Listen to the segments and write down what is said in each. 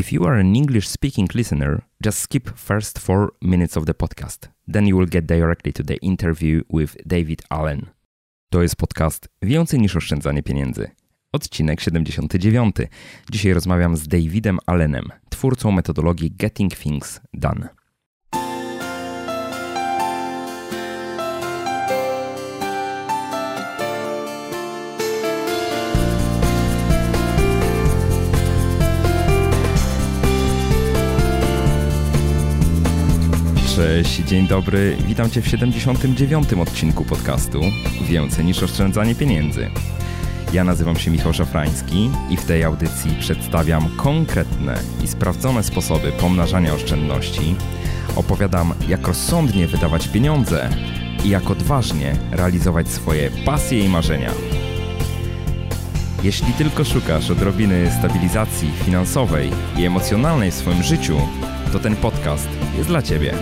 If you are an English-speaking listener, just skip first 4 minutes of the podcast. Then you will get directly to the interview with David Allen. To jest podcast Więcej niż oszczędzanie pieniędzy. Odcinek 79. Dzisiaj rozmawiam z Davidem Allenem, twórcą metodologii Getting Things Done. Cześć, dzień dobry, witam Cię w 79. odcinku podcastu Więcej niż oszczędzanie pieniędzy. Ja nazywam się Michał Szafrański i w tej audycji przedstawiam konkretne i sprawdzone sposoby pomnażania oszczędności, opowiadam, jak rozsądnie wydawać pieniądze i jak odważnie realizować swoje pasje i marzenia. Jeśli tylko szukasz odrobiny stabilizacji finansowej i emocjonalnej w swoim życiu, to ten podcast jest dla Ciebie.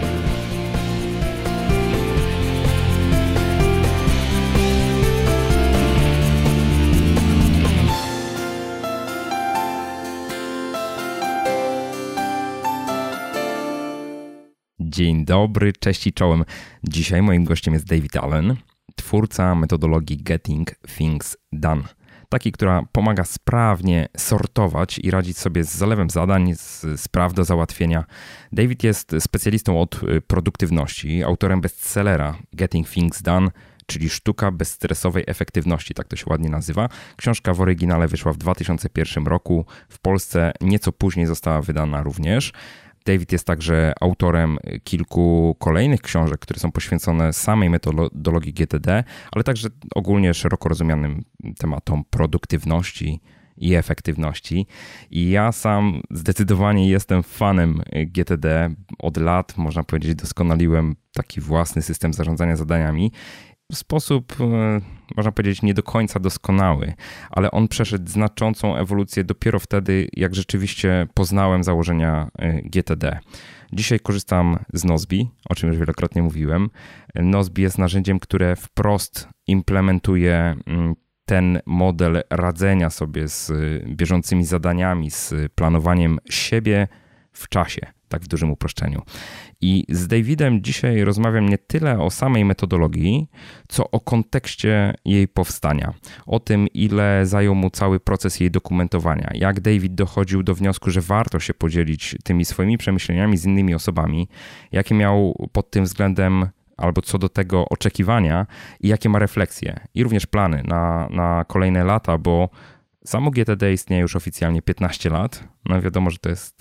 Dzień dobry, cześć i czołem. Dzisiaj moim gościem jest David Allen, twórca metodologii Getting Things Done. Takiej, która pomaga sprawnie sortować i radzić sobie z zalewem zadań, z spraw do załatwienia. David jest specjalistą od produktywności, autorem bestsellera Getting Things Done, czyli Sztuka bezstresowej efektywności, tak to się ładnie nazywa. Książka w oryginale wyszła w 2001 roku, w Polsce nieco później została wydana również. David jest także autorem kilku kolejnych książek, które są poświęcone samej metodologii GTD, ale także ogólnie szeroko rozumianym tematom produktywności i efektywności. I ja sam zdecydowanie jestem fanem GTD. Od lat, można powiedzieć, doskonaliłem taki własny system zarządzania zadaniami. W sposób, można powiedzieć, nie do końca doskonały, ale on przeszedł znaczącą ewolucję dopiero wtedy, jak rzeczywiście poznałem założenia GTD. Dzisiaj korzystam z Nozbe, o czym już wielokrotnie mówiłem. Nozbe jest narzędziem, które wprost implementuje ten model radzenia sobie z bieżącymi zadaniami, z planowaniem siebie w czasie, tak w dużym uproszczeniu. I z Davidem dzisiaj rozmawiam nie tyle o samej metodologii, co o kontekście jej powstania. O tym, ile zajął mu cały proces jej dokumentowania. Jak David dochodził do wniosku, że warto się podzielić tymi swoimi przemyśleniami z innymi osobami. Jakie miał pod tym względem albo co do tego oczekiwania i jakie ma refleksje. I również plany na kolejne lata, bo samo GTD istnieje już oficjalnie 15 lat. No wiadomo, że to jest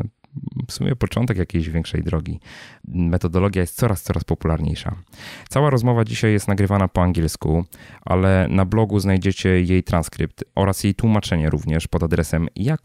w sumie początek jakiejś większej drogi. Metodologia jest coraz popularniejsza. Cała rozmowa dzisiaj jest nagrywana po angielsku, ale na blogu znajdziecie jej transkrypt oraz jej tłumaczenie również pod adresem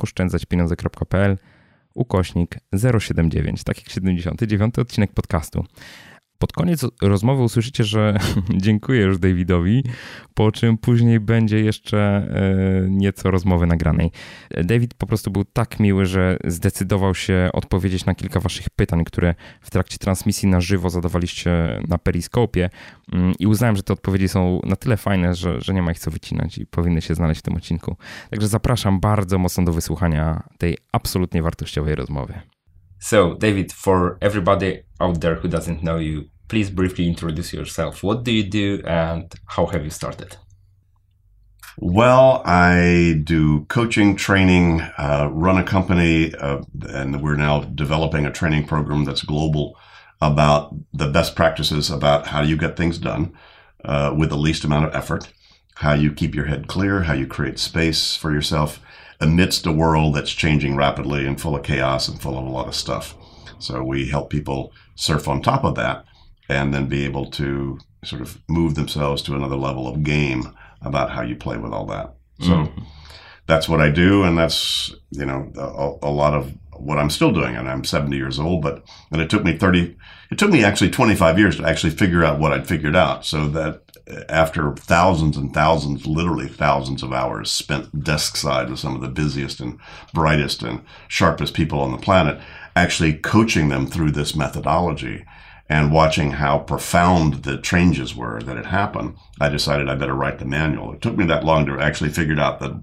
jakoszczędzaćpieniądze.pl/079, tak jak 79. odcinek podcastu. Pod koniec rozmowy usłyszycie, że dziękuję już Davidowi, po czym później będzie jeszcze nieco rozmowy nagranej. David po prostu był tak miły, że zdecydował się odpowiedzieć na kilka waszych pytań, które w trakcie transmisji na żywo zadawaliście na Periskopie i uznałem, że te odpowiedzi są na tyle fajne, że nie ma ich co wycinać i powinny się znaleźć w tym odcinku. Także zapraszam bardzo mocno do wysłuchania tej absolutnie wartościowej rozmowy. So, David, for everybody out there who doesn't know you, please briefly introduce yourself. What do you do and how have you started? Well, I do coaching, training, run a company, and we're now developing a training program that's global about the best practices about how you get things done with the least amount of effort, how you keep your head clear, how you create space for yourself amidst a world that's changing rapidly and full of chaos and full of a lot of stuff. So we help people surf on top of that and then be able to sort of move themselves to another level of game about how you play with all that. So that's what I do, and that's, you know, a lot of what I'm still doing. And I'm 70 years old, and it took me actually 25 years to actually figure out what I'd figured out. So that after thousands and thousands, literally thousands of hours spent desk side with some of the busiest and brightest and sharpest people on the planet, actually coaching them through this methodology and watching how profound the changes were that had happened, I decided I better write the manual. It took me that long to actually figure out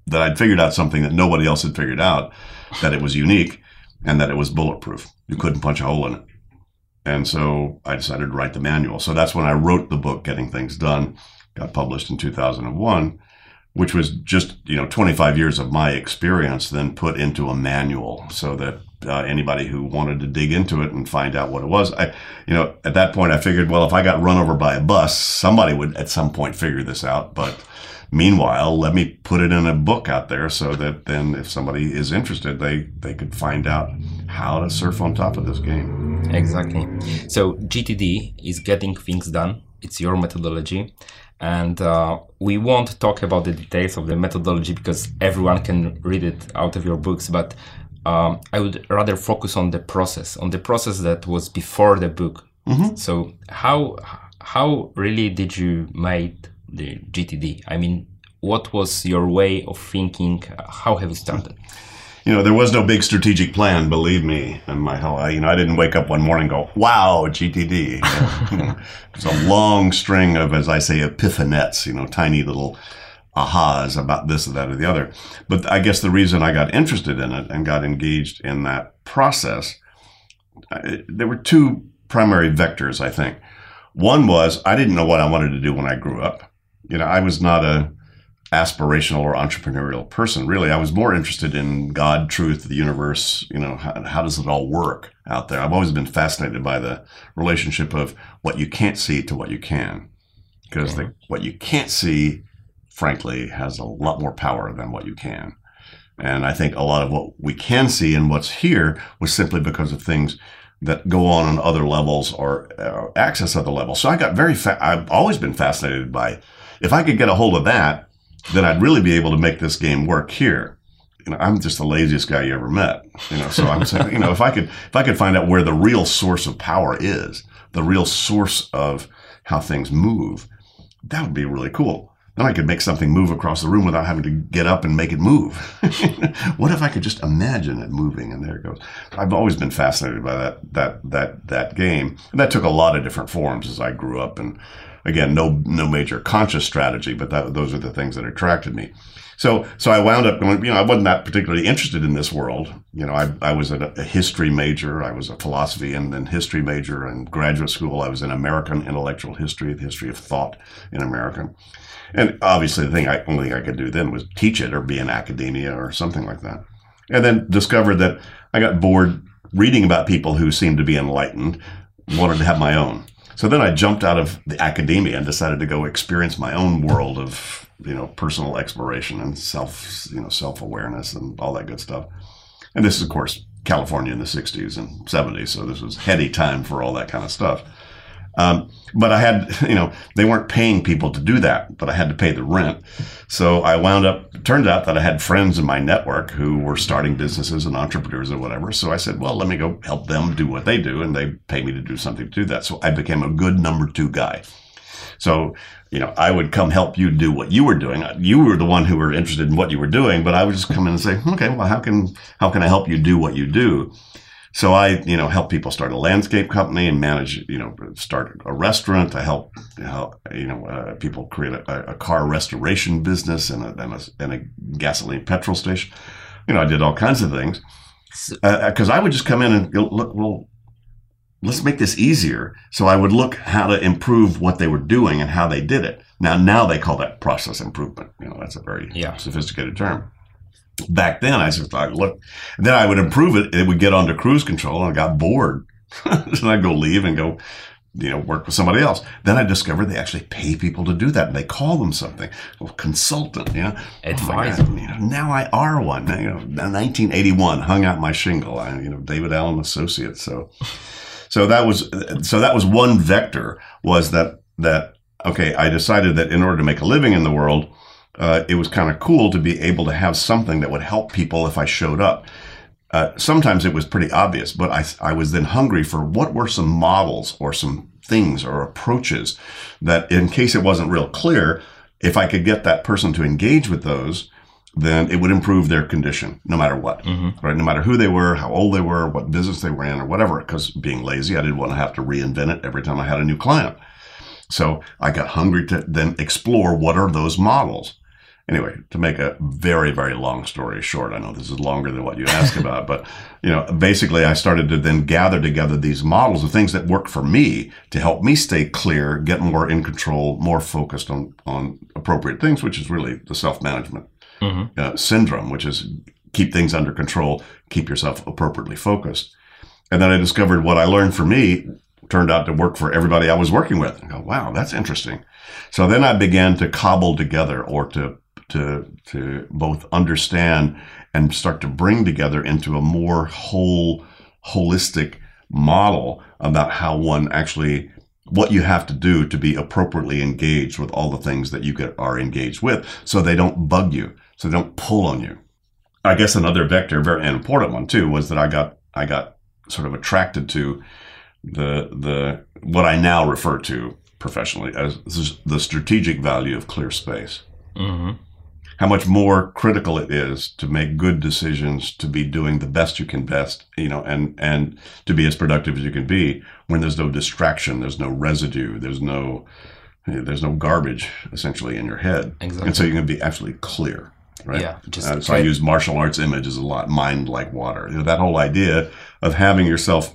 that I'd figured out something that nobody else had figured out, that it was unique and that it was bulletproof. You couldn't punch a hole in it. And so I decided to write the manual. So that's when I wrote the book, Getting Things Done, got published in 2001, which was just, 25 years of my experience then put into a manual so that anybody who wanted to dig into it and find out what it was. At that point I figured, well, if I got run over by a bus, somebody would at some point figure this out. But meanwhile, let me put it in a book out there so that then if somebody is interested, they could find out how to surf on top of this game. Exactly. So GTD is Getting Things Done. It's your methodology. And we won't talk about the details of the methodology because everyone can read it out of your books. But I would rather focus on the process that was before the book. Mm-hmm. So how really did you make the GTD? I mean, what was your way of thinking? How have you started? There was no big strategic plan, believe me. And I didn't wake up one morning and go, wow, GTD. It's a long string of, as I say, epiphanettes, tiny little ahas about this or that or the other. But I guess the reason I got interested in it and got engaged in that process, there were two primary vectors, I think. One was I didn't know what I wanted to do when I grew up. I was not a aspirational or entrepreneurial person. Really, I was more interested in God, truth, the universe. How does it all work out there? I've always been fascinated by the relationship of what you can't see to what you can, because what you can't see, frankly, has a lot more power than what you can. And I think a lot of what we can see and what's here was simply because of things that go on other levels or access other levels. So I got I've always been fascinated by, if I could get a hold of that, then I'd really be able to make this game work here. I'm just the laziest guy you ever met. So I'm saying, if I could find out where the real source of power is, the real source of how things move, that would be really cool. Then I could make something move across the room without having to get up and make it move. What if I could just imagine it moving? And there it goes. I've always been fascinated by that game. And that took a lot of different forms as I grew up. And again, no major conscious strategy, but those are the things that attracted me. So I wound up going, I wasn't that particularly interested in this world. I was a history major. I was a philosophy and then history major in graduate school. I was in American intellectual history, the history of thought in America. And obviously the only thing I could do then was teach it or be in academia or something like that. And then discovered that I got bored reading about people who seemed to be enlightened, wanted to have my own. So then I jumped out of the academia and decided to go experience my own world of, personal exploration and self-awareness and all that good stuff. And this is, of course, California in the 60s and 70s. So this was heady time for all that kind of stuff. But I had, they weren't paying people to do that, but I had to pay the rent. So I turned out that I had friends in my network who were starting businesses and entrepreneurs or whatever. So I said, well, let me go help them do what they do. And they pay me to do something to do that. So I became a good number two guy. So, I would come help you do what you were doing. You were the one who were interested in what you were doing, but I would just come in and say, okay, well, how can I help you do what you do? So I, help people start a landscape company and manage, start a restaurant. I help, people create a car restoration business and a gasoline petrol station. I did all kinds of things because I would just come in and go, look, well, let's make this easier. So I would look how to improve what they were doing and how they did it. Now they call that process improvement. That's a very sophisticated term. Back then, I just thought, look, then I would improve it. It would get onto cruise control, and I got bored. So I'd go leave and go, work with somebody else. Then I discovered they actually pay people to do that, and they call them something. Well, consultant, advisor. Now I are one. 1981, hung out my shingle. David Allen Associates. So that was one vector. Was that okay? I decided that in order to make a living in the world, it was kind of cool to be able to have something that would help people if I showed up. Sometimes it was pretty obvious, but I was then hungry for what were some models or some things or approaches that, in case it wasn't real clear, if I could get that person to engage with those, then it would improve their condition no matter what, right? No matter who they were, how old they were, what business they were in or whatever, because being lazy, I didn't want to have to reinvent it every time I had a new client. So I got hungry to then explore what are those models. anyway, to make a very, very long story short, I know this is longer than what you asked about, but, basically I started to then gather together these models of things that work for me to help me stay clear, get more in control, more focused on appropriate things, which is really the self-management syndrome, which is keep things under control, keep yourself appropriately focused. And then I discovered what I learned for me turned out to work for everybody I was working with. I go, wow, that's interesting. So then I began to cobble together or to both understand and start to bring together into a more holistic model about how one actually, what you have to do to be appropriately engaged with all the things that you are engaged with so they don't bug you, so they don't pull on you. I guess another vector, very important one too, was that I got sort of attracted to the what I now refer to professionally as the strategic value of clear space. Mm-hmm. How much more critical it is to make good decisions, to be doing the best you can best, and to be as productive as you can be when there's no distraction, there's no residue, there's no garbage essentially in your head. Exactly. And so you can be absolutely clear. Right. Yeah. So I use martial arts images a lot. Mind like water. That whole idea of having yourself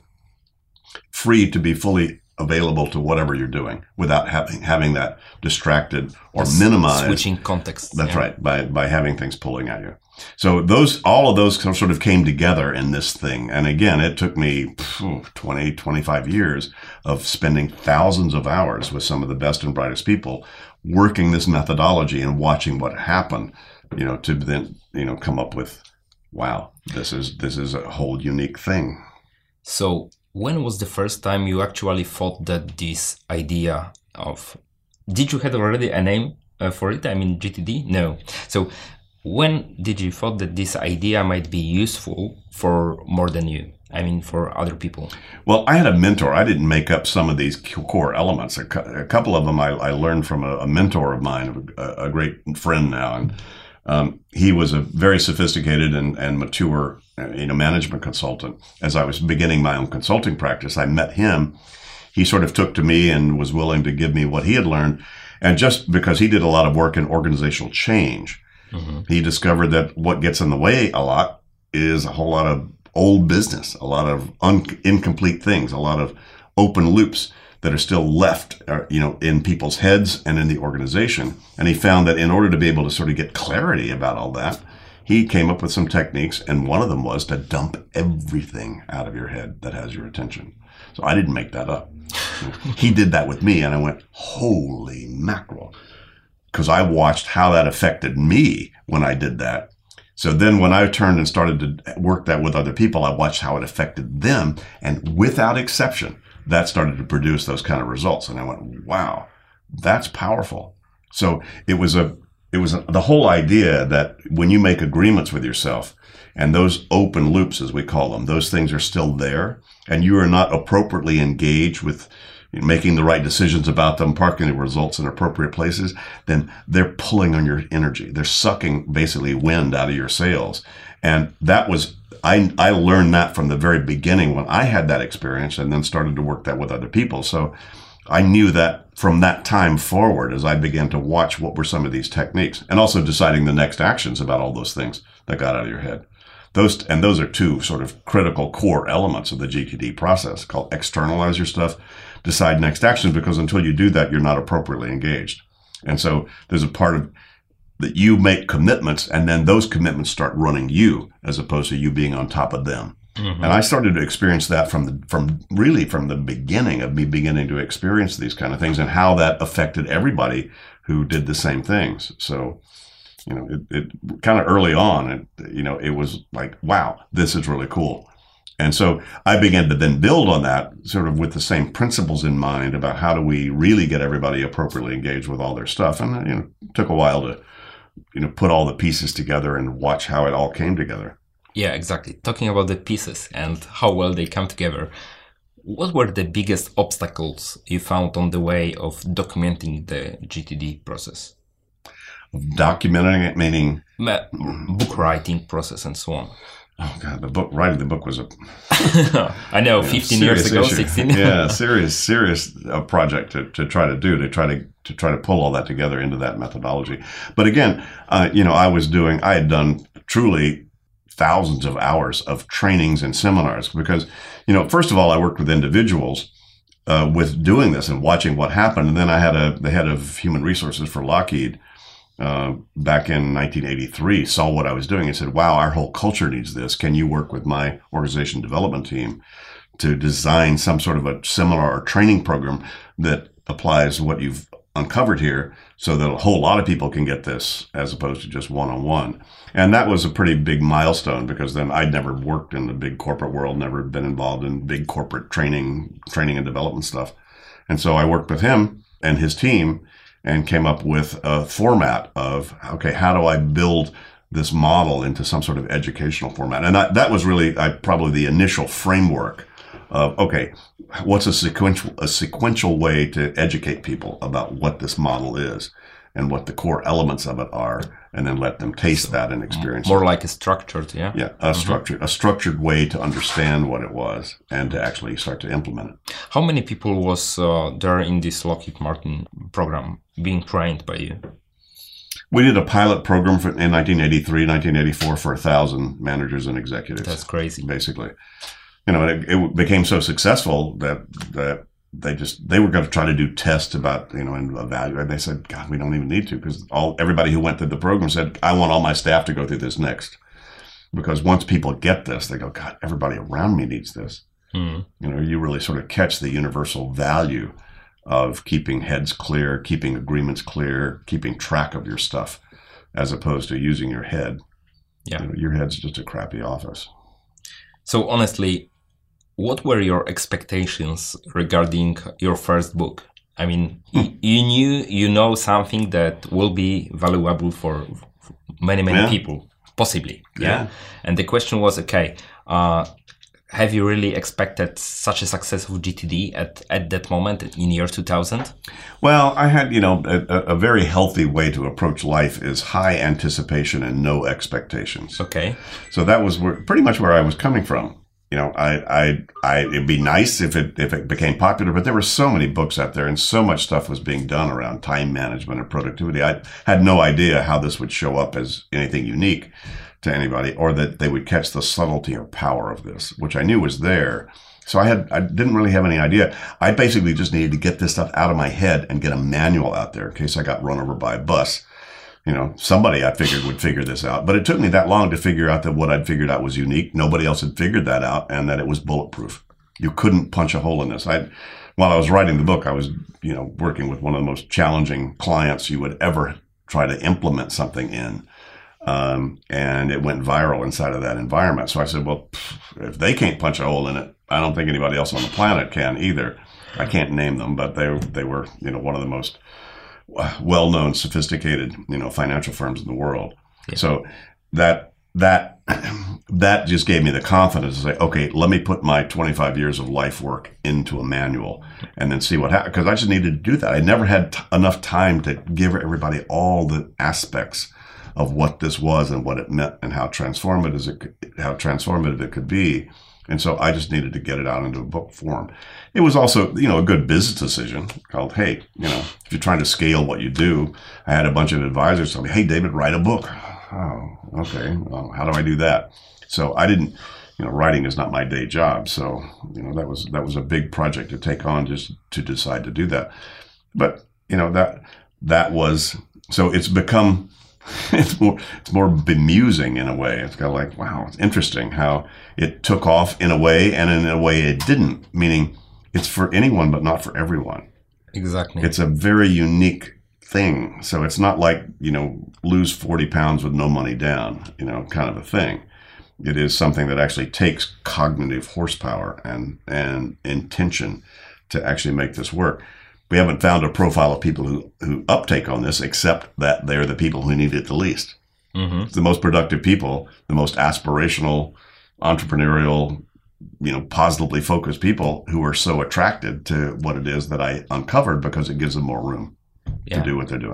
free to be fully available to whatever you're doing without having that distracted or minimized. Switching context. That's right. By having things pulling at you. So all of those sort of came together in this thing. And again, it took me 20, 25 years of spending thousands of hours with some of the best and brightest people working this methodology and watching what happened. To then, come up with, wow, this is a whole unique thing. So when was the first time you actually thought that this idea of, did you have already a name for it? I mean, GTD? No. So when did you thought that this idea might be useful for more than you? I mean, for other people? Well, I had a mentor. I didn't make up some of these core elements. A couple of them I learned from a mentor of mine, a great friend now, and he was a very sophisticated and mature, management consultant. As I was beginning my own consulting practice, I met him. He sort of took to me and was willing to give me what he had learned. And just because he did a lot of work in organizational change, he discovered that what gets in the way a lot is a whole lot of old business, a lot of incomplete things, a lot of open loops that are still left, in people's heads and in the organization. And he found that in order to be able to sort of get clarity about all that, he came up with some techniques, and one of them was to dump everything out of your head that has your attention. So I didn't make that up. He did that with me, and I went, holy mackerel, because I watched how that affected me when I did that. So then when I turned and started to work that with other people, I watched how it affected them, and without exception, that started to produce those kind of results. And I went, wow, that's powerful. So it was the whole idea that when you make agreements with yourself, and those open loops, as we call them, those things are still there, and you are not appropriately engaged with making the right decisions about them, parking the results in appropriate places, then they're pulling on your energy. They're sucking basically wind out of your sails. And that was, I learned that from the very beginning when I had that experience, and then started to work that with other people. So I knew that from that time forward, as I began to watch what were some of these techniques, and also deciding the next actions about all those things that got out of your head. Those are two sort of critical core elements of the GTD process, called externalize your stuff, decide next actions, because until you do that, you're not appropriately engaged. And so there's a part of that you make commitments, and then those commitments start running you, as opposed to you being on top of them. Mm-hmm. And I started to experience that from the beginning of me beginning to experience these kind of things, and how that affected everybody who did the same things. So, it kind of early on, it was like, wow, this is really cool. And so I began to then build on that sort of with the same principles in mind about how do we really get everybody appropriately engaged with all their stuff. And, it took a while to, put all the pieces together and watch how it all came together. Yeah, exactly. Talking about the pieces and how well they come together, what were the biggest obstacles you found on the way of documenting the GTD process? Documenting it, meaning? Book writing process and so on. Oh God, writing the book was a I know, 15 years ago, issue. 16. Yeah, serious project to try to pull all that together into that methodology. But again, I had done truly thousands of hours of trainings and seminars because, first of all, I worked with individuals with doing this and watching what happened. And then I had the head of human resources for Lockheed back in 1983 saw what I was doing and said, wow, our whole culture needs this. Can you work with my organization development team to design some sort of a seminar or training program that applies what you've uncovered here so that a whole lot of people can get this as opposed to just one-on-one. And that was a pretty big milestone because then I'd never worked in the big corporate world, never been involved in big corporate training and development stuff. And so I worked with him and his team and came up with a format of, okay, how do I build this model into some sort of educational format? And that was really probably the initial framework of, okay, what's a sequential way to educate people about what this model is and what the core elements of it are, and then let them taste that and experience more it. like a structured, yeah? Yeah, a structured way to understand what it was and to actually start to implement it. How many people was there in this Lockheed Martin program being trained by you? We did a pilot program in 1983, 1984 for 1,000 managers and executives. That's crazy. Basically. It became so successful that they were going to try to do tests about, and evaluate. And they said, God, we don't even need to, because everybody who went through the program said, I want all my staff to go through this next. Because once people get this, they go, God, everybody around me needs this. You really sort of catch the universal value of keeping heads clear, keeping agreements clear, keeping track of your stuff, as opposed to using your head. Yeah. Your head's just a crappy office. So honestly, what were your expectations regarding your first book? I mean, you know something that will be valuable for many people, possibly. Yeah. And the question was, okay, have you really expected such a success of GTD at that moment in year 2000? Well, I had, a very healthy way to approach life is high anticipation and no expectations. Okay. So that was pretty much where I was coming from. It'd be nice if it became popular, but there were so many books out there and so much stuff was being done around time management and productivity. I had no idea how this would show up as anything unique to anybody, or that they would catch the subtlety or power of this, which I knew was there. So I didn't really have any idea. I basically just needed to get this stuff out of my head and get a manual out there in case I got run over by a bus. Somebody I figured would figure this out. But it took me that long to figure out that what I'd figured out was unique. Nobody else had figured that out, and that it was bulletproof. You couldn't punch a hole in this. While I was writing the book, I was, working with one of the most challenging clients you would ever try to implement something in. And it went viral inside of that environment. So I said, well, if they can't punch a hole in it, I don't think anybody else on the planet can either. I can't name them, but they were, one of the most well-known, sophisticated, financial firms in the world. Yeah. So that just gave me the confidence to say, okay, let me put my 25 years of life work into a manual and then see what happens. Because I just needed to do that. I never had enough time to give everybody all the aspects of what this was and what it meant and how transformative it could be. And so I just needed to get it out into a book form. It was also, a good business decision called, hey, if you're trying to scale what you do, I had a bunch of advisors tell me, hey, David, write a book. Oh, okay. Well, how do I do that? So I didn't, writing is not my day job. So, that was a big project to take on just to decide to do that. But, that was, so it's become, it's more bemusing in a way. It's kind of like, wow, it's interesting how it took off in a way and in a way it didn't, meaning it's for anyone but not for everyone. Exactly. It's a very unique thing. So it's not like, lose 40 pounds with no money down, kind of a thing. It is something that actually takes cognitive horsepower and intention to actually make this work. We haven't found a profile of people who uptake on this, except that they're the people who need it the least. Mm-hmm. It's the most productive people, the most aspirational, entrepreneurial, positively focused people who are so attracted to what it is that I uncovered because it gives them more room to do what they're doing.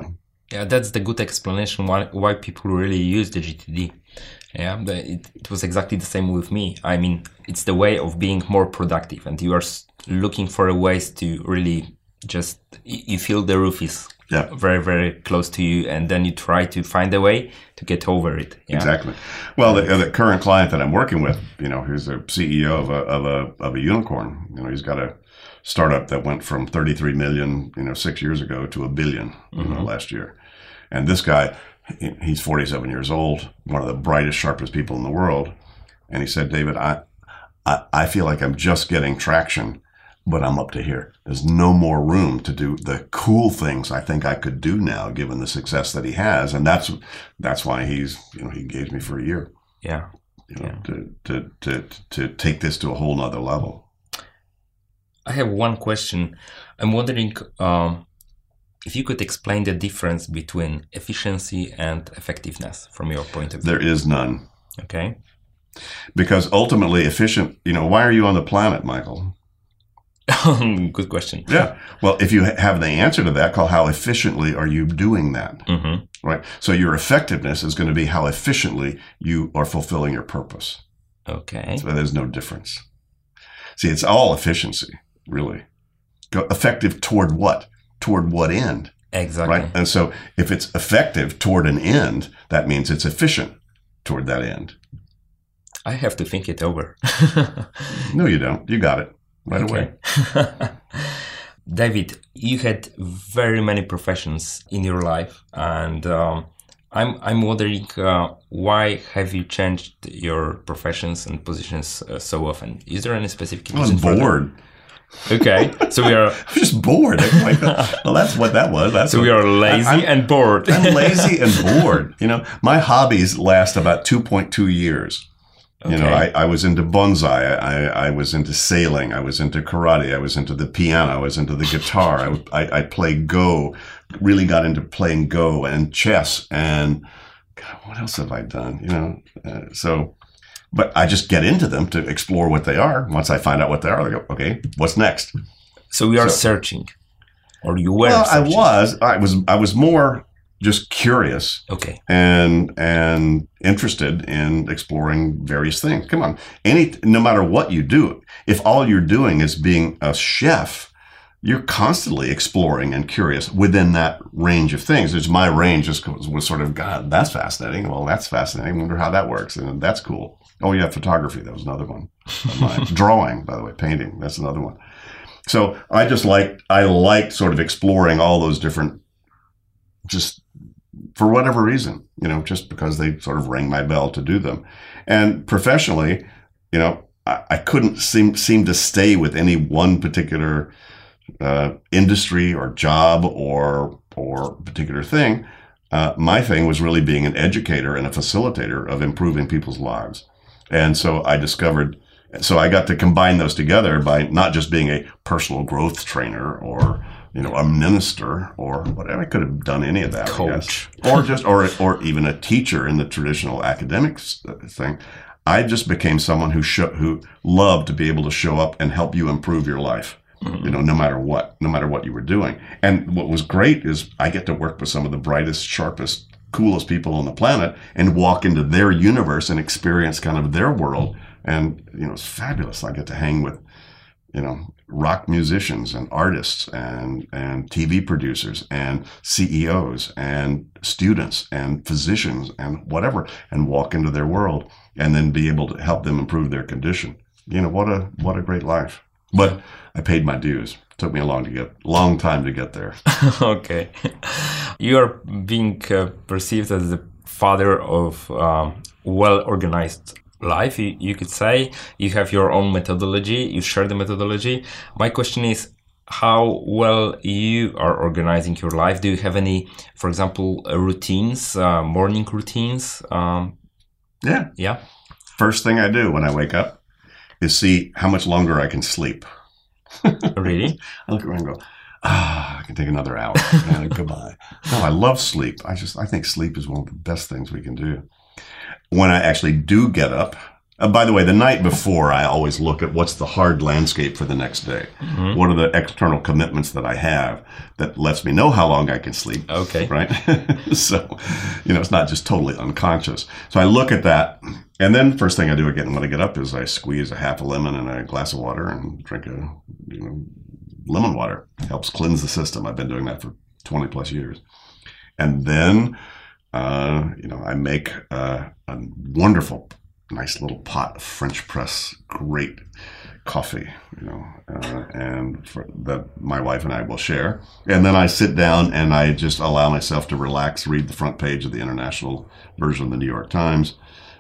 Yeah, that's the good explanation why people really use the GTD. Yeah, it was exactly the same with me. I mean, it's the way of being more productive, and you are looking for ways to really just, you feel the roof is very, very close to you, and then you try to find a way to get over it. Yeah? Exactly. Well, the current client that I'm working with, who's a CEO of a unicorn, he's got a startup that went from 33 million, 6 years ago to $1 billion last year. And this guy, he's 47 years old, one of the brightest, sharpest people in the world. And he said, David, I feel like I'm just getting traction, but I'm up to here. There's no more room to do the cool things I think I could do now, given the success that he has. And that's why he's, he engaged me for a year. Yeah. To take this to a whole nother level. I have one question. I'm wondering if you could explain the difference between efficiency and effectiveness from your point of view. There is none. Okay. Because ultimately why are you on the planet, Michael? Good question. Yeah. Well, if you have the answer to that, call how efficiently are you doing that? Mm-hmm. Right. So your effectiveness is going to be how efficiently you are fulfilling your purpose. Okay. So there's no difference. See, it's all efficiency, really. Effective toward what? Toward what end? Exactly. Right. And so if it's effective toward an end, that means it's efficient toward that end. I have to think it over. No, you don't. You got it right away. David, you had very many professions in your life, and I'm wondering why have you changed your professions and positions so often? Is there any specific reason? I was bored. Okay, so we are. I'm just bored. Well, that's what that was. We are lazy and bored. I'm lazy and bored. My hobbies last about 2.2 years. Okay. I was into bonsai. I was into sailing. I was into karate. I was into the piano. I was into the guitar. I played Go. Really got into playing Go and chess. And God, what else have I done? But I just get into them to explore what they are. Once I find out what they are, I go, okay, what's next? So we are searching, or you were? Well, searching. I was more just curious, okay, and interested in exploring various things. Come on, no matter what you do, if all you're doing is being a chef, you're constantly exploring and curious within that range of things. It's my range was sort of, God, that's fascinating. Well, that's fascinating. I wonder how that works, and that's cool. Oh, yeah, photography. That was another one. Drawing, by the way, painting. That's another one. So I liked sort of exploring all those different, just for whatever reason, just because they sort of rang my bell to do them. And professionally, I couldn't seem to stay with any one particular industry or job or particular thing. My thing was really being an educator and a facilitator of improving people's lives. And so I got to combine those together by not just being a personal growth trainer or, a minister or whatever. I could have done any of that, coach, or even a teacher in the traditional academics thing. I just became someone who loved to be able to show up and help you improve your life. Mm-hmm. No matter what you were doing. And what was great is I get to work with some of the brightest, sharpest, coolest people on the planet and walk into their universe and experience kind of their world. And, it's fabulous. I get to hang with, rock musicians and artists and TV producers and CEOs and students and physicians and whatever, and walk into their world and then be able to help them improve their condition. What a great life. But I paid my dues. It took me a long time to get there. Okay. You are being perceived as the father of well-organized life, you could say. You have your own methodology. You share the methodology. My question is how well you are organizing your life. Do you have any, for example, routines, morning routines? Yeah. First thing I do when I wake up is see how much longer I can sleep. Really? I look around and go, I can take another hour. Goodbye. No, I love sleep. I think sleep is one of the best things we can do. When I actually do get up, By the way, the night before, I always look at what's the hard landscape for the next day. Mm-hmm. What are the external commitments that I have that lets me know how long I can sleep. Okay. Right? So, it's not just totally unconscious. So I look at that, and then first thing I do again when I get up is I squeeze a half a lemon in a glass of water and drink lemon water. It helps cleanse the system. I've been doing that for 20 plus years. And then, I make a wonderful nice little pot of French press, great coffee, and that my wife and I will share. And then I sit down and I just allow myself to relax, read the front page of the international version of the New York Times.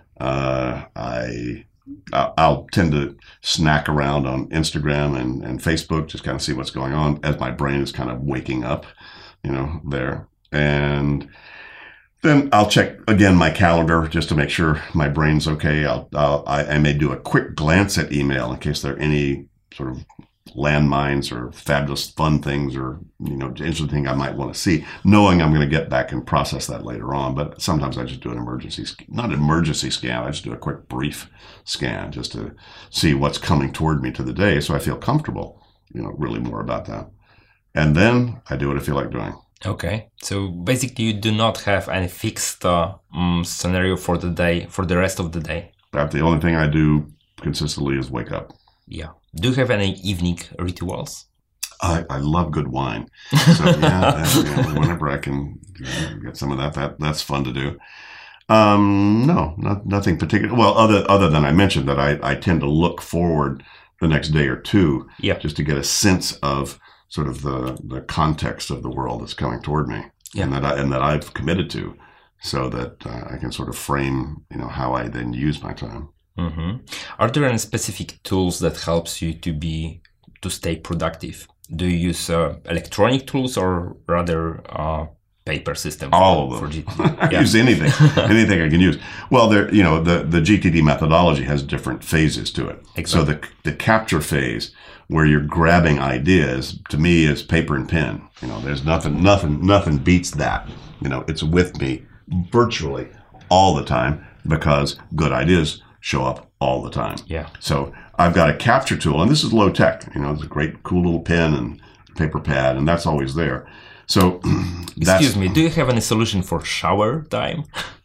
I'll tend to snack around on Instagram and Facebook, just kind of see what's going on as my brain is kind of waking up, there. And then I'll check again my calendar just to make sure my brain's okay. I may do a quick glance at email in case there are any sort of landmines or fabulous fun things or interesting thing I might want to see, knowing I'm going to get back and process that later on. But sometimes I just do not an emergency scan. I just do a quick brief scan just to see what's coming toward me to the day, so I feel comfortable, really more about that. And then I do what I feel like doing. Okay, so basically you do not have any fixed scenario for the day, for the rest of the day. The only thing I do consistently is wake up. Yeah. Do you have any evening rituals? I love good wine. So whenever I can get some of that's fun to do. No, nothing particular. Well, other than I mentioned that I tend to look forward the next day or two, just to get a sense of sort of the context of the world that's coming toward me, and that I've committed to, so that I can sort of frame, how I then use my time. Mm-hmm. Are there any specific tools that helps you to stay productive? Do you use electronic tools or rather paper system? All of them. I use anything I can use. Well, the GTD methodology has different phases to it. Exactly. So the capture phase, where you're grabbing ideas, to me is paper and pen. There's nothing beats that. It's with me virtually all the time because good ideas show up all the time. Yeah. So I've got a capture tool, and this is low tech. It's a great, cool little pen and paper pad, and that's always there. So, excuse me, do you have any solution for shower time?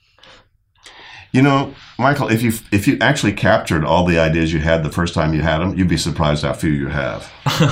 Michael, if you actually captured all the ideas you had the first time you had them, you'd be surprised how few you have.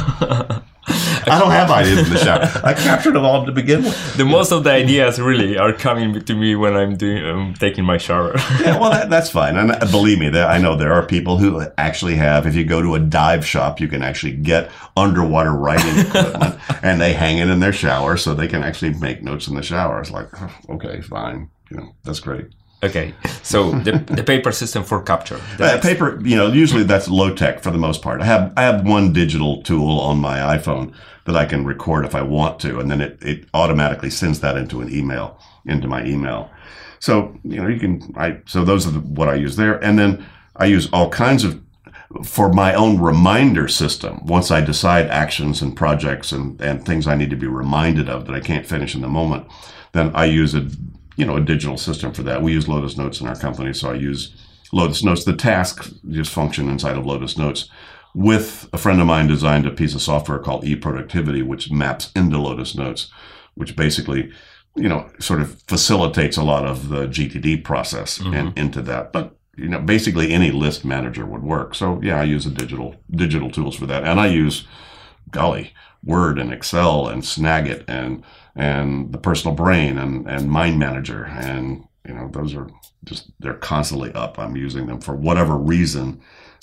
I don't have ideas in the shower. I captured them all to begin with. Most of the ideas really are coming to me when I'm taking my shower. Yeah, well, that's fine. And believe me, I know there are people who actually have, if you go to a dive shop, you can actually get underwater writing equipment and they hang it in their shower so they can actually make notes in the shower. It's like, okay, fine. That's great. Okay, so the paper system for capture. Paper, usually that's low tech for the most part. I have one digital tool on my iPhone that I can record if I want to, and then it automatically sends that into my email. So so those are what I use there, and then I use all kinds of for my own reminder system. Once I decide actions and projects and things I need to be reminded of that I can't finish in the moment, then I use a digital system for that. We use Lotus Notes in our company, so I use Lotus Notes. The tasks just function inside of Lotus Notes. With a friend of mine designed a piece of software called eProductivity, which maps into Lotus Notes, which basically, sort of facilitates a lot of the GTD process and into that. But, basically any list manager would work. So yeah, I use the digital tools for that. And I use, Word and Excel and Snagit and the Personal Brain and Mind Manager. And, those are they're constantly up. I'm using them for whatever reason.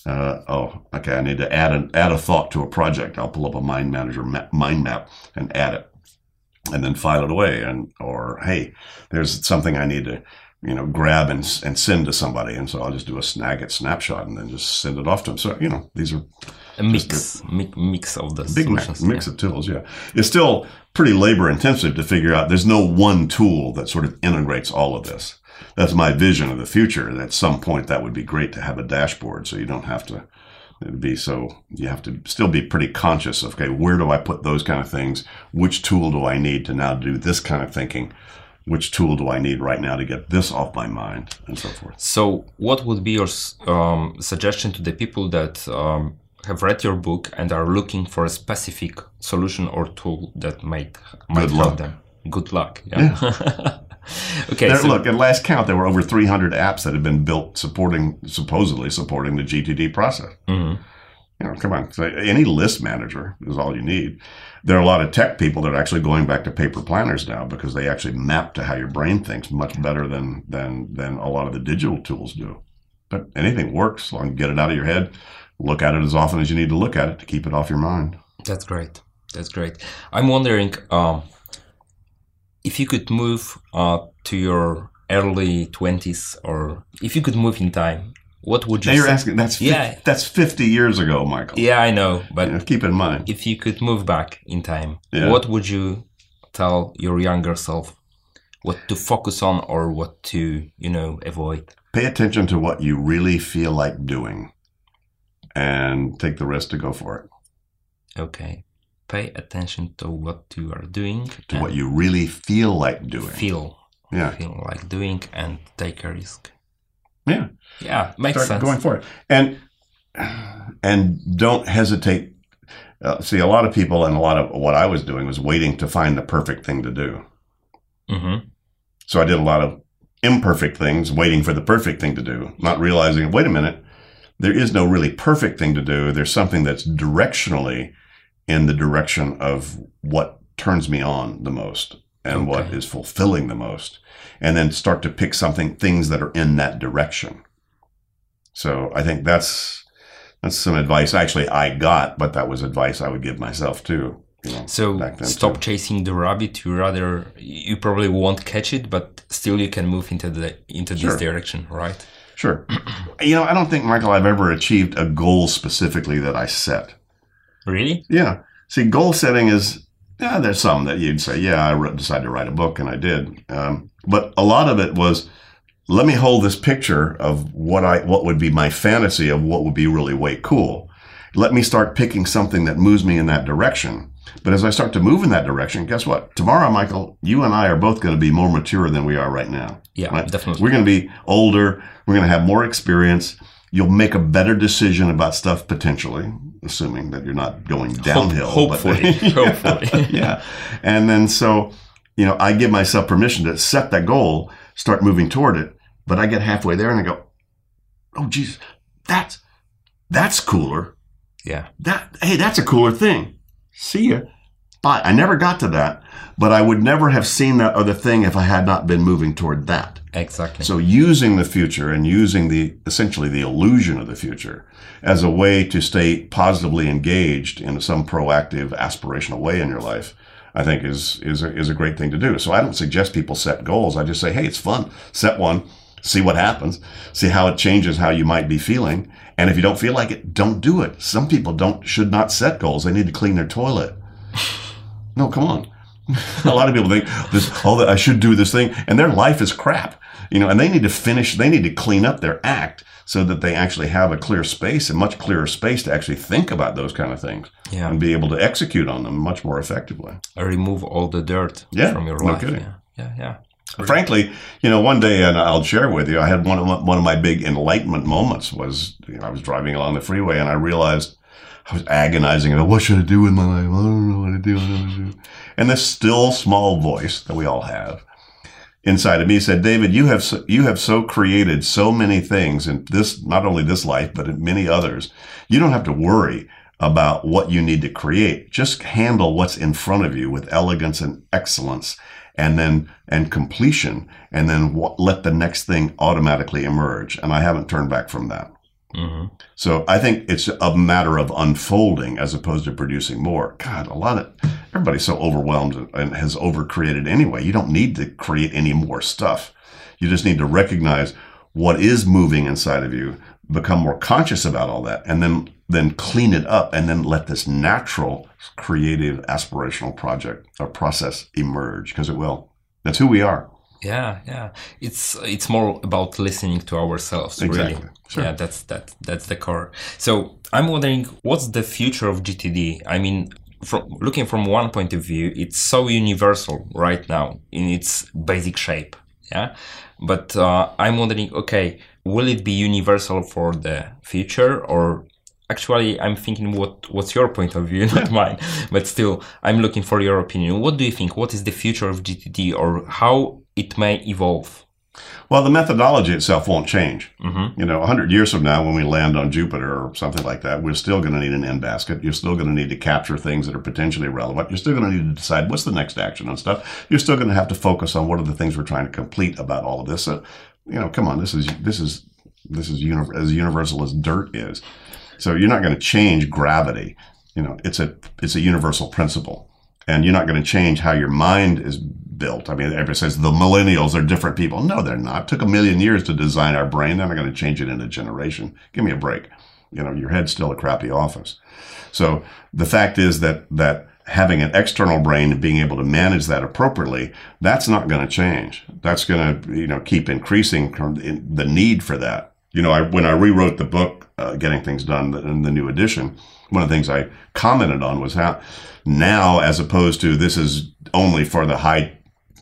I need to add a thought to a project. I'll pull up a Mind Manager mind map and add it and then file it away. Or, hey, there's something I need to, grab and send to somebody. And so I'll just do a Snagit snapshot and then just send it off to them. So, these are a mix of the big mix of tools. Yeah. It's still pretty labor intensive to figure out. There's no one tool that sort of integrates all of this. That's my vision of the future. And at some point that would be great to have a dashboard. So you don't have to you have to still be pretty conscious of, okay, where do I put those kind of things? Which tool do I need to now do this kind of thinking? which tool do I need right now to get this off my mind, and so forth. So what would be your suggestion to the people that have read your book and are looking for a specific solution or tool that might help them? Good luck. Yeah. Okay. Look, at last count, there were over 300 apps that had been built supposedly supporting the GTD process. Mm-hmm. Come on. So any list manager is all you need. There are a lot of tech people that are actually going back to paper planners now because they actually map to how your brain thinks much better than a lot of the digital tools do. But anything works as long as you get it out of your head. Look at it as often as you need to look at it to keep it off your mind. That's great. I'm wondering if you could move to your early 20s, or if you could move in time, what would you say? You're asking, that's 50 years ago, Michael. Yeah, I know. But keep in mind, if you could move back in time, what would you tell your younger self? What to focus on or what to, avoid? Pay attention to what you really feel like doing and take the risk to go for it. Okay. Pay attention to what you are doing. To what you really feel like doing. Feel like doing and take a risk. Yeah. Yeah, makes sense. Going for it. And don't hesitate. See, a lot of people and a lot of what I was doing was waiting to find the perfect thing to do. Mm-hmm. So I did a lot of imperfect things, waiting for the perfect thing to do, not realizing, wait a minute, there is no really perfect thing to do. There's something that's directionally in the direction of what turns me on the most and what is fulfilling the most. And then start to pick things that are in that direction. So I think that's some advice actually I got, but that was advice I would give myself too. So stop chasing the rabbit. You probably won't catch it, but still you can move into this direction, right? Sure. I don't think, Michael, I've ever achieved a goal specifically that I set. Really? Yeah. See, goal setting is, there's some that you'd say, I decided to write a book, and I did. But a lot of it was, let me hold this picture of what would be my fantasy of what would be really way cool. Let me start picking something that moves me in that direction. But as I start to move in that direction, guess what? Tomorrow, Michael, you and I are both going to be more mature than we are right now. Yeah, right? Definitely. We're going to be older. We're going to have more experience. You'll make a better decision about stuff potentially, assuming that you're not going downhill. Hopefully. Hopefully. Yeah. And then so, I give myself permission to set that goal, start moving toward it. But I get halfway there and I go, oh, geez, that's cooler. Yeah. That's a cooler thing. See ya. Bye. I never got to that, but I would never have seen that other thing if I had not been moving toward that. Exactly. So using the future and using essentially the illusion of the future as a way to stay positively engaged in some proactive, aspirational way in your life, I think is a great thing to do. So I don't suggest people set goals. I just say, hey, it's fun. Set one, see what happens, see how it changes how you might be feeling. And if you don't feel like it, don't do it. Some people should not set goals. They need to clean their toilet. No, come on. A lot of people think I should do this thing, and their life is crap. And they need to clean up their act so that they actually have a much clearer space to actually think about those kind of things and be able to execute on them much more effectively. Remove all the dirt from your life. Kidding. Yeah. Frankly, one day, and I'll share with you, I had one of my big enlightenment moments was, I was driving along the freeway and I realized I was agonizing about what should I do with my life? I don't know what to do. And this still small voice that we all have inside of me said, David, you have so created so many things in this, not only this life, but in many others. You don't have to worry about what you need to create. Just handle what's in front of you with elegance and excellence and completion, and then let the next thing automatically emerge. And I haven't turned back from that. Mm-hmm. So I think it's a matter of unfolding as opposed to producing more. God, everybody's so overwhelmed and has overcreated anyway. You don't need to create any more stuff. You just need to recognize what is moving inside of you, become more conscious about all that, and then clean it up, and then let this natural, creative, aspirational project or process emerge, because it will. That's who we are. Yeah. It's more about listening to ourselves. Exactly. Really. Sure. Yeah, that's the core. So I'm wondering, what's the future of GTD? I mean, looking from one point of view, it's so universal right now in its basic shape. Yeah. But I'm wondering, okay, will it be universal for the future? Or actually, I'm thinking what's your point of view, not mine. But still, I'm looking for your opinion. What do you think? What is the future of GTD, or how it may evolve? Well, the methodology itself won't change. 100 years from now, when we land on Jupiter or something like that, we're still going to need an end basket. You're still going to need to capture things that are potentially relevant. You're still going to need to decide what's the next action and stuff. You're still going to have to focus on what are the things we're trying to complete about all of this. So, come on, this is as universal as dirt is. So you're not going to change gravity. It's a universal principle, and you're not going to change how your mind is built. I mean, everybody says the millennials are different people. No, they're not. It took 1 million years to design our brain. They're not going to change it in a generation. Give me a break. Your head's still a crappy office. So the fact is that having an external brain and being able to manage that appropriately, that's not going to change. That's going to, keep increasing the need for that. When I rewrote the book, Getting Things Done, in the new edition, one of the things I commented on was how now, as opposed to this is only for the high,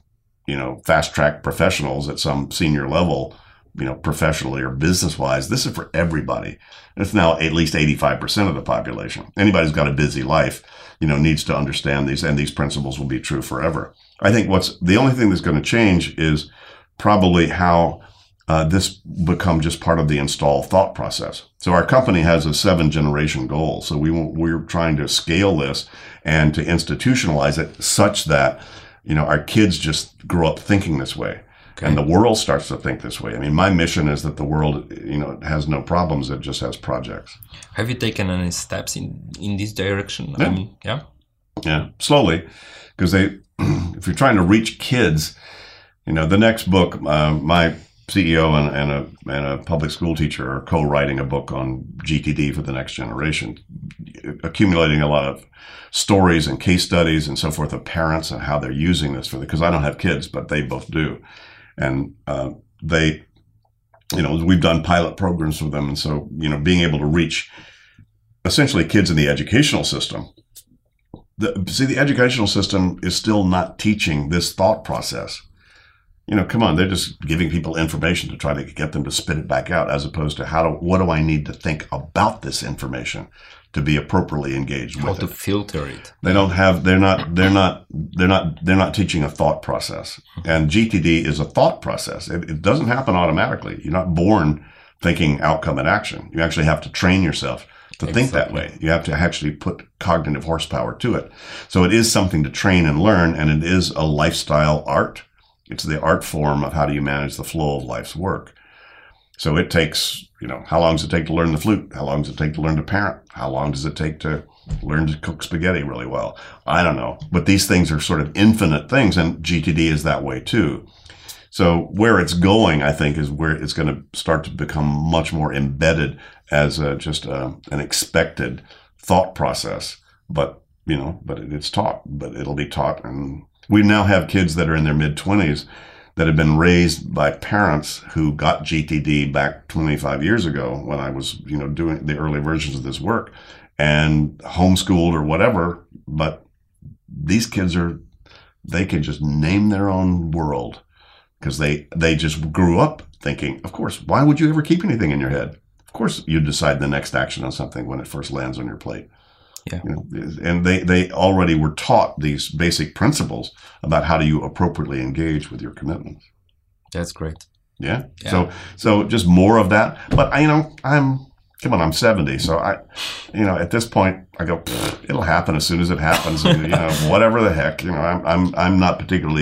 fast track professionals at some senior level, professionally or business wise, this is for everybody. It's now at least 85% of the population. Anybody who's got a busy life, needs to understand these, and these principles will be true forever. I think the only thing that's going to change is probably how this become just part of the install thought process. So our company has a 7-generation goal. So we're trying to scale this and to institutionalize it such that, our kids just grow up thinking this way. Okay. And the world starts to think this way. I mean, my mission is that the world, has no problems. It just has projects. Have you taken any steps in this direction? Yeah. I mean, yeah. Yeah, slowly. Because if you're trying to reach kids, the next book, my CEO and a public school teacher are co-writing a book on GTD for the next generation, accumulating a lot of stories and case studies and so forth of parents and how they're using this because I don't have kids, but they both do. And we've done pilot programs for them. And so, being able to reach essentially kids in the educational system. The educational system is still not teaching this thought process. Come on, they're just giving people information to try to get them to spit it back out, as opposed to what do I need to think about this information to be appropriately engaged with it. How to filter it. They're not teaching a thought process. And GTD is a thought process. It doesn't happen automatically. You're not born thinking outcome and action. You actually have to train yourself to think that way. You have to actually put cognitive horsepower to it. So it is something to train and learn, and it is a lifestyle art. It's the art form of how do you manage the flow of life's work. So it takes, how long does it take to learn the flute? How long does it take to learn to parent? How long does it take to learn to cook spaghetti really well? I don't know. But these things are sort of infinite things, and GTD is that way too. So where it's going, I think, is where it's going to start to become much more embedded as an expected thought process. But it's taught, but it'll be taught. And we now have kids that are in their mid-20s that have been raised by parents who got GTD back 25 years ago when I was, doing the early versions of this work, and homeschooled or whatever. But these kids they can just name their own world because they just grew up thinking, of course, why would you ever keep anything in your head? Of course, you decide the next action on something when it first lands on your plate. Yeah. And they already were taught these basic principles about how do you appropriately engage with your commitments. That's great. Yeah. So just more of that. But I'm 70. So at this point I go, it'll happen as soon as it happens. And, whatever the heck, I'm not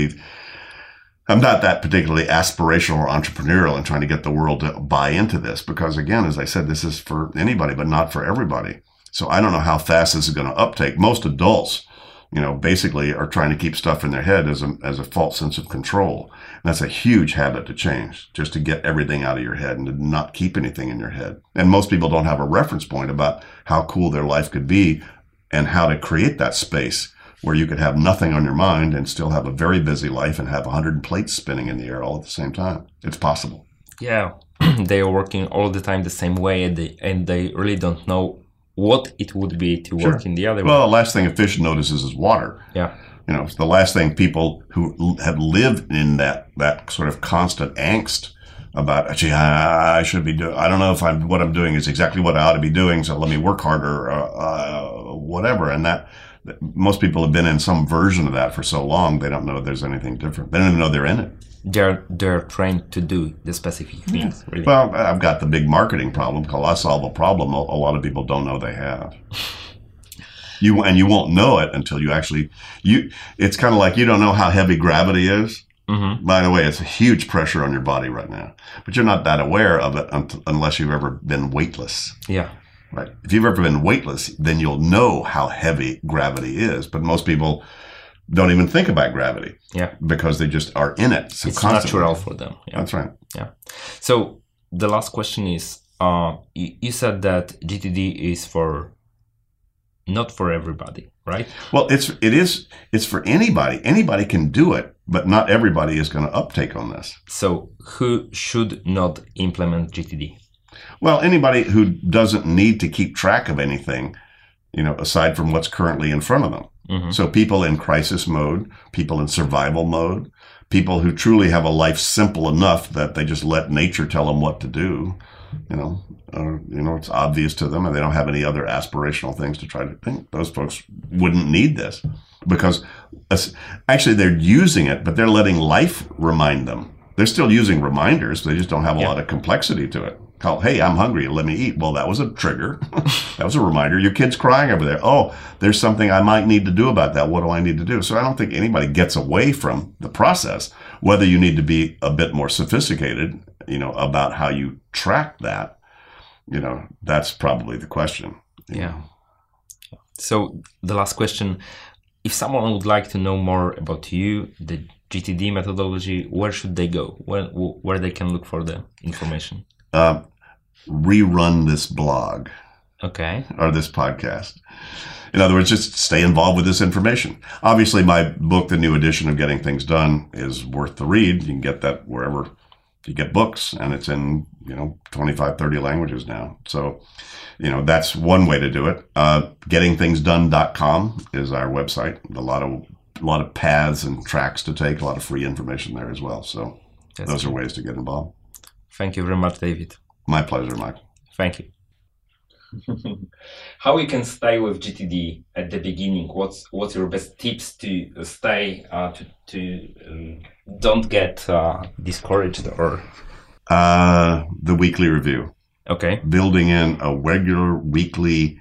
that particularly aspirational or entrepreneurial in trying to get the world to buy into this, because again, as I said, this is for anybody, but not for everybody. So I don't know how fast this is going to uptake. Most adults, basically are trying to keep stuff in their head as a false sense of control. And that's a huge habit to change, just to get everything out of your head and to not keep anything in your head. And most people don't have a reference point about how cool their life could be and how to create that space where you could have nothing on your mind and still have a very busy life and have 100 plates spinning in the air all at the same time. It's possible. Yeah, they are working all the time the same way, and they really don't know what it would be to work in the other way. Well, the last thing a fish notices is water. Yeah. It's the last thing people who have lived in that sort of constant angst about, gee, I should be doing, I don't know if what I'm doing is exactly what I ought to be doing, so let me work harder, whatever. And that most people have been in some version of that for so long, they don't know there's anything different. They don't even know they're in it. They're trained to do the specific things. Really. Well, I've got the big marketing problem called I solve a problem a lot of people don't know they have. You won't know it until you actually, it's kind of like you don't know how heavy gravity is. Mm-hmm. By the way, it's a huge pressure on your body right now, but you're not that aware of it unless you've ever been weightless. Yeah. Right. If you've ever been weightless, then you'll know how heavy gravity is. But most people don't even think about gravity. Yeah. Because they just are in it. So it's constantly. Natural for them. Yeah. That's right. Yeah. So the last question is, you said that GTD is not for everybody, right? Well, it's for anybody. Anybody can do it, but not everybody is going to uptake on this. So who should not implement GTD? Well, anybody who doesn't need to keep track of anything, aside from what's currently in front of them. Mm-hmm. So people in crisis mode, people in survival mode, people who truly have a life simple enough that they just let nature tell them what to do. It's obvious to them and they don't have any other aspirational things to try to think. Those folks wouldn't need this because actually they're using it, but they're letting life remind them. They're still using reminders. They just don't have a lot of complexity to it. Call, hey, I'm hungry. Let me eat. Well, that was a trigger. That was a reminder. Your kid's crying over there. Oh, there's something I might need to do about that. What do I need to do? So I don't think anybody gets away from the process. Whether you need to be a bit more sophisticated, about how you track that, that's probably the question. Yeah. So the last question, if someone would like to know more about you, the GTD methodology, where should they go? Where they can look for the information? Rerun this blog. Okay. Or this podcast. In other words, just stay involved with this information. Obviously, my book, The New Edition of Getting Things Done, is worth the read. You can get that wherever you get books, and it's in, 25, 30 languages now. So, that's one way to do it. Gettingthingsdone.com is our website. A lot of paths and tracks to take, a lot of free information there as well. So those are ways to get involved. Thank you very much, David. My pleasure, Mike. Thank you. How you can stay with GTD at the beginning? What's your best tips to stay to don't get discouraged or? The weekly review. Okay. Building in a regular weekly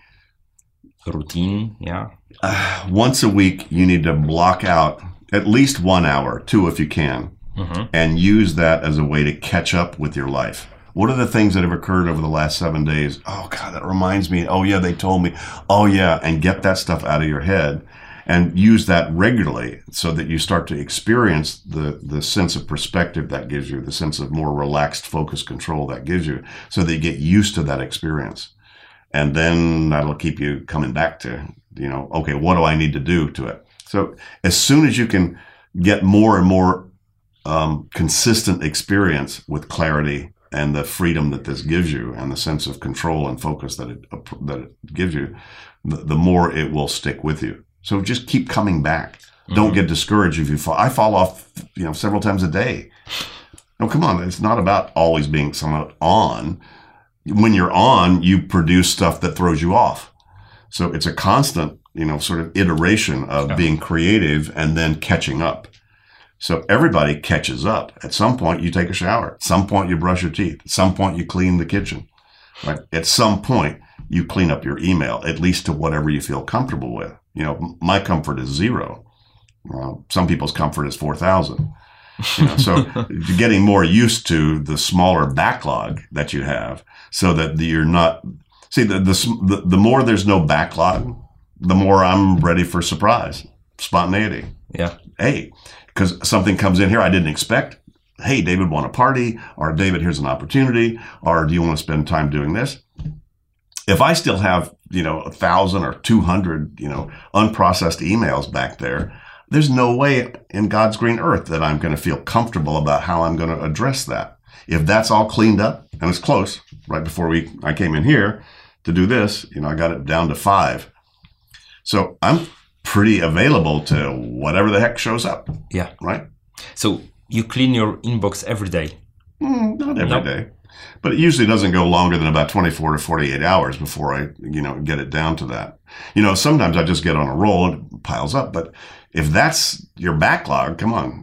routine. Yeah. Once a week, you need to block out at least 1 hour, 2 if you can, and use that as a way to catch up with your life. What are the things that have occurred over the last 7 days? Oh, God, that reminds me. Oh, yeah, they told me. Oh, yeah. And get that stuff out of your head and use that regularly so that you start to experience the sense of perspective that gives you, the sense of more relaxed focus control that gives you, so that you get used to that experience. And then that'll keep you coming back to, okay, what do I need to do to it? So as soon as you can get more and more consistent experience with clarity and the freedom that this gives you and the sense of control and focus that it gives you, the more it will stick with you. So just keep coming back. Don't get discouraged if you fall. I fall off, several times a day. No, come on. It's not about always being somewhat on. When you're on, you produce stuff that throws you off. So it's a constant, sort of iteration of being creative and then catching up. So everybody catches up. At some point, you take a shower. At some point, you brush your teeth. At some point, you clean the kitchen. Right? At some point, you clean up your email, at least to whatever you feel comfortable with. My comfort is 0. Some people's comfort is 4,000. So you're getting more used to the smaller backlog that you have, so that you're not. See, the more there's no backlog, the more I'm ready for surprise, spontaneity. Yeah. Hey, because something comes in here I didn't expect. Hey, David, want a party? Or David, here's an opportunity. Or do you want to spend time doing this? If I still have, 1,000 or 200, unprocessed emails back there, there's no way in God's green earth that I'm going to feel comfortable about how I'm going to address that. If that's all cleaned up, and it's close, right before I came in here, to do this, I got it down to 5. So I'm pretty available to whatever the heck shows up. Yeah. Right? So you clean your inbox every day? Not every day. But it usually doesn't go longer than about 24 to 48 hours before I, get it down to that. Sometimes I just get on a roll and it piles up. But if that's your backlog, come on,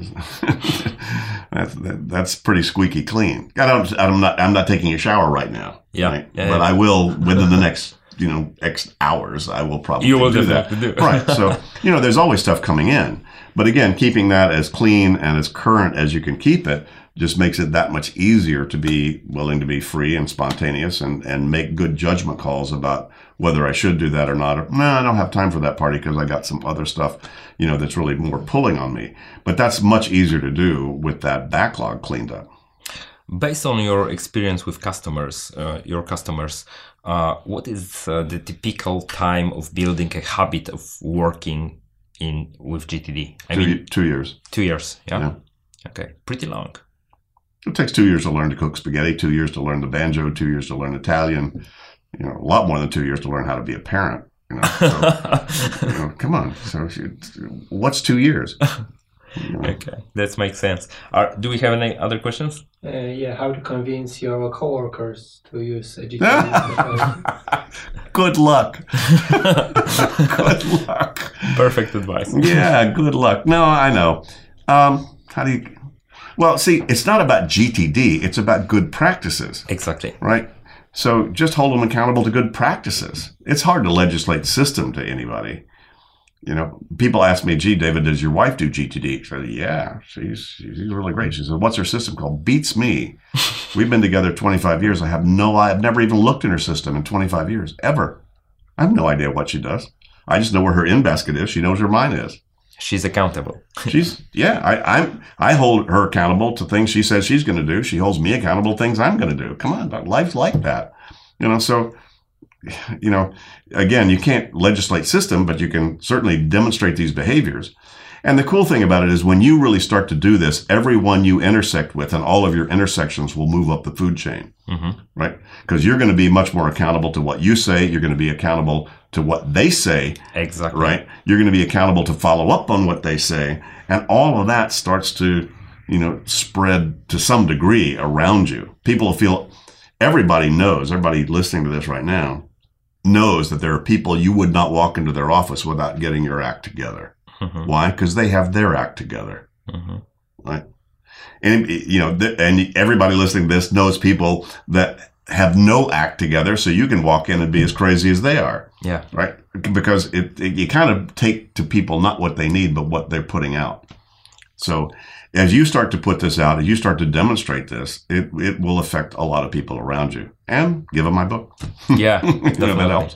that's pretty squeaky clean. I'm not taking a shower right now. Yeah. Right? But I will within the next, X hours. I will probably do that. Right. So, there's always stuff coming in. But again, keeping that as clean and as current as you can keep it just makes it that much easier to be willing to be free and spontaneous and make good judgment calls about whether I should do that or not. Or, no, I don't have time for that party because I got some other stuff, that's really more pulling on me. But that's much easier to do with that backlog cleaned up. Based on your experience with your customers, what is the typical time of building a habit of working with GTD? 2 years. 2 years, yeah? Okay, pretty long. It takes 2 years to learn to cook spaghetti, 2 years to learn the banjo, 2 years to learn Italian, a lot more than 2 years to learn how to be a parent. So, come on. So what's 2 years? Okay, that makes sense. Do we have any other questions? How to convince your coworkers to use a GTD? Good luck. Good luck. Perfect advice. Yeah, good luck. No, I know. How do you... Well, see, it's not about GTD. It's about good practices. Exactly. Right? So just hold them accountable to good practices. It's hard to legislate system to anybody. People ask me, gee, David, does your wife do GTD? I said, yeah, she's really great. She said, what's her system called? Beats me. We've been together 25 years. I've never even looked in her system in 25 years, ever. I have no idea what she does. I just know where her in basket is. She knows where mine is. She's accountable. I hold her accountable to things she says she's going to do. She holds me accountable to things I'm going to do. Come on, life's like that. So, again, you can't legislate system, but you can certainly demonstrate these behaviors. And the cool thing about it is when you really start to do this, everyone you intersect with and all of your intersections will move up the food chain, right? Because you're going to be much more accountable to what you say. You're going to be accountable to what they say. Exactly. Right? You're going to be accountable to follow up on what they say. And all of that starts to, spread to some degree around you. People feel, everybody listening to this right now knows that there are people you would not walk into their office without getting your act together. Why? Because they have their act together, right? And and everybody listening to this knows people that have no act together, so you can walk in and be as crazy as they are. Yeah, right. Because you kind of take to people not what they need, but what they're putting out. So as you start to put this out, as you start to demonstrate this, it will affect a lot of people around you. And give them my book. Yeah, definitely. That helps.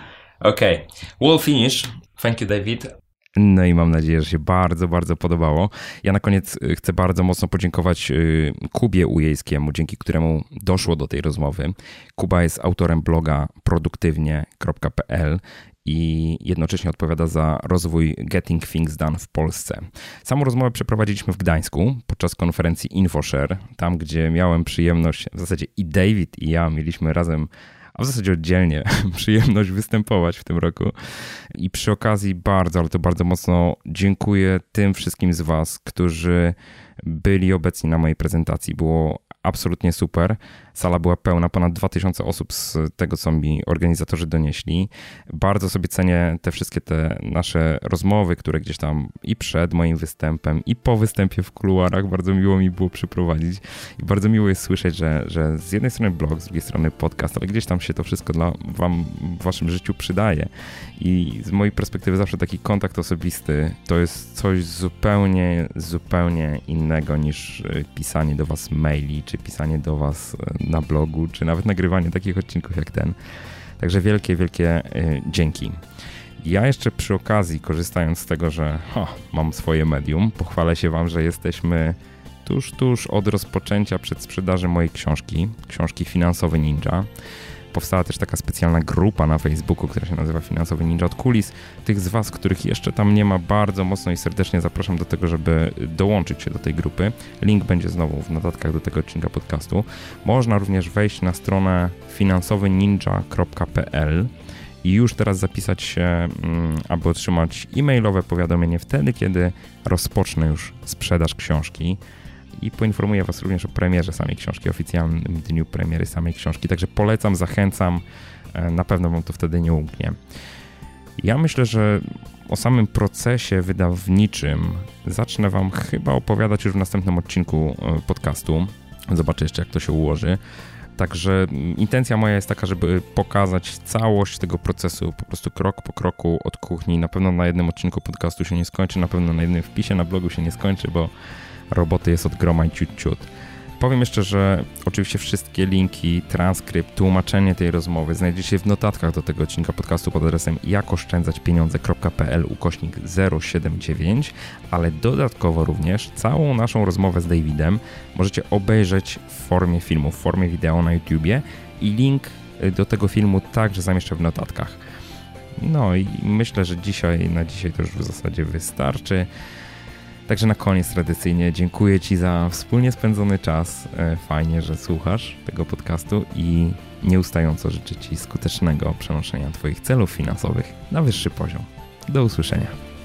Okay, we'll finish. Thank you, David. No i mam nadzieję, że się bardzo, bardzo podobało. Ja na koniec chcę bardzo mocno podziękować Kubie Ujejskiemu, dzięki któremu doszło do tej rozmowy. Kuba jest autorem bloga produktywnie.pl i jednocześnie odpowiada za rozwój Getting Things Done w Polsce. Samą rozmowę przeprowadziliśmy w Gdańsku podczas konferencji InfoShare, tam gdzie miałem przyjemność, w zasadzie i David i ja mieliśmy razem, a w zasadzie oddzielnie, przyjemność występować w tym roku. I przy okazji bardzo, ale to bardzo mocno dziękuję tym wszystkim z Was, którzy byli obecni na mojej prezentacji. Było absolutnie super. Sala była pełna, ponad 2000 osób z tego, co mi organizatorzy donieśli. Bardzo sobie cenię te nasze rozmowy, które gdzieś tam i przed moim występem, i po występie w kuluarach bardzo miło mi było przeprowadzić. I bardzo miło jest słyszeć, że z jednej strony blog, z drugiej strony podcast, ale gdzieś tam się to wszystko dla Wam w Waszym życiu przydaje. I z mojej perspektywy zawsze taki kontakt osobisty to jest coś zupełnie, zupełnie innego niż pisanie do Was maili, czy pisanie do Was na blogu, czy nawet nagrywanie takich odcinków jak ten. Także wielkie, wielkie dzięki. Ja jeszcze przy okazji, korzystając z tego, że mam swoje medium, pochwalę się Wam, że jesteśmy tuż od rozpoczęcia przedsprzedaży mojej książki Finansowy Ninja. Powstała też taka specjalna grupa na Facebooku, która się nazywa Finansowy Ninja od Kulis. Tych z Was, których jeszcze tam nie ma, bardzo mocno i serdecznie zapraszam do tego, żeby dołączyć się do tej grupy. Link będzie znowu w notatkach do tego odcinka podcastu. Można również wejść na stronę finansowyninja.pl i już teraz zapisać się, aby otrzymać e-mailowe powiadomienie wtedy, kiedy rozpocznę już sprzedaż książki. I poinformuję Was również o premierze samej książki, oficjalnym dniu premiery samej książki. Także polecam, zachęcam, na pewno Wam to wtedy nie umknie. Ja myślę, że o samym procesie wydawniczym zacznę Wam chyba opowiadać już w następnym odcinku podcastu. Zobaczę jeszcze, jak to się ułoży. Także intencja moja jest taka, żeby pokazać całość tego procesu, po prostu krok po kroku od kuchni. Na pewno na jednym odcinku podcastu się nie skończy, na pewno na jednym wpisie na blogu się nie skończy, bo roboty jest od groma i ciut. Powiem jeszcze, że oczywiście wszystkie linki, transkrypt, tłumaczenie tej rozmowy znajdziecie w notatkach do tego odcinka podcastu pod adresem jakoszczędzaćpieniądze.pl/079, ale dodatkowo również całą naszą rozmowę z Davidem możecie obejrzeć w formie filmu, w formie wideo na YouTubie i link do tego filmu także zamieszczę w notatkach. No i myślę, że na dzisiaj to już w zasadzie wystarczy. Także na koniec tradycyjnie dziękuję Ci za wspólnie spędzony czas. Fajnie, że słuchasz tego podcastu i nieustająco życzę Ci skutecznego przenoszenia Twoich celów finansowych na wyższy poziom. Do usłyszenia.